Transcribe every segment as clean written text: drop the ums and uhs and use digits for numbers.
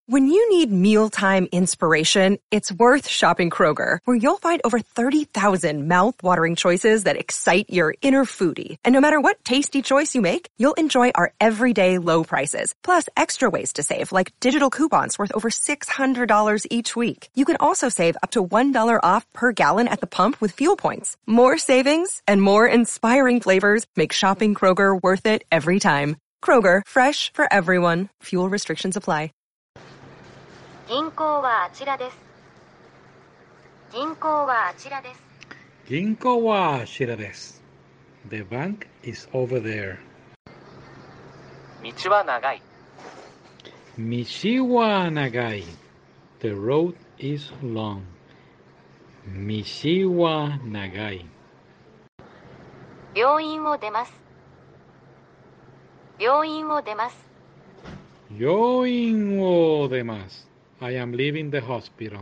When you need mealtime inspiration, it's worth shopping Kroger, where you'll find over 30,000 mouth-watering choices that excite your inner foodie. And no matter what tasty choice you make, you'll enjoy our everyday low prices, plus extra ways to save, like digital coupons worth over $600 each week. You can also save up to $1 off per gallon at the pump with fuel points. More savings and more inspiring flavors make shopping Kroger worth it every time. Kroger, fresh for everyone. Fuel restrictions apply. 銀行はあちらです。銀行はあちらです。 銀行はあちらです。The bank is over there. 道は長い。 道は長い。The road is long. 道は長い。 病院を出ます。病院を出ます。 病院を出ます。I am leaving the hospital.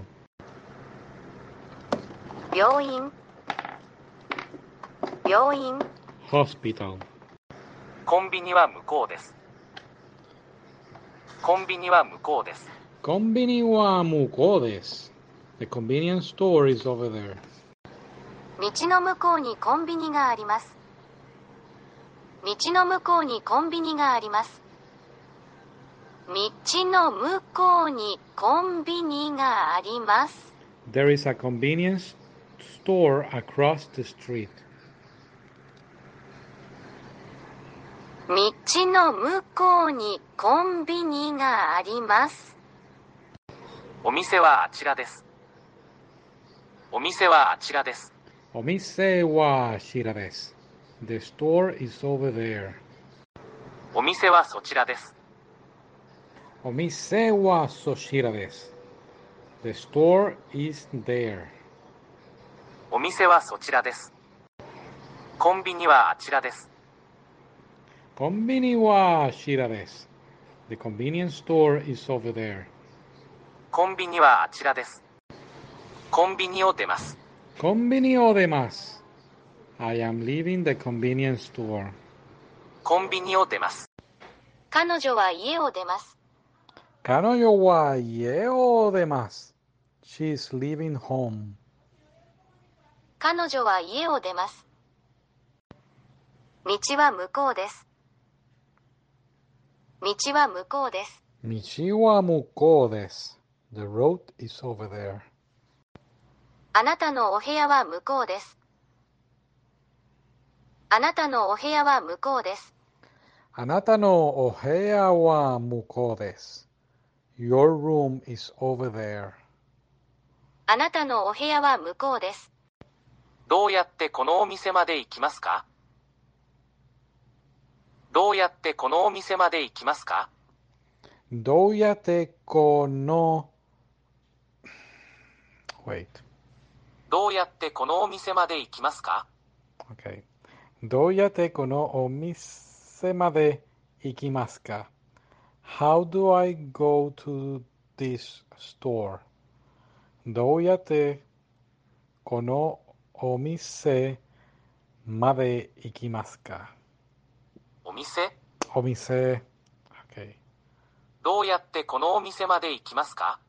病院。病院。 Hospital. コンビニは向こうです。コンビニは向こうです。 コンビニは向こうです。The convenience store is over there. 道の向こうにコンビニがあります。道の向こうにコンビニがあります。道の向こうにコンビニがあります。 There is a convenience store across the street. 道の向こうにコンビニがあります。 お店はあちらです。お店はあちらです。 お店はあちらです。The store is over there. お店はそちらです。 お店はそちらです。The store is there. お店はそちらです。コンビニはあちらです。 コンビニはあちらです。The convenience store is over there. コンビニはあちらです。コンビニを出ます。 コンビニを出ます。I am leaving the convenience store. コンビニを出ます。 彼女は家を出ます。 彼女は家を出ます。She is leaving home. 彼女は家を出ます。道は向こうです。道は向こうです。 道は向こうです。The road is over there. あなたのお部屋は向こうです。あなたのお部屋は向こうです。 あなたのお部屋は向こうです。Your room is over there. あなたのお部屋は向こうです。 どうやってこのお店まで行きますか？どうやってこのお店まで行きますか？ どうやってこの Wait. どうやってこのお店まで行きますか？ Okay. どうやってこのお店まで行きますか？ How do I go to this store? どうやってこのお店まで行きますか？ お店？ お店。Okay. どうやってこのお店まで行きますか？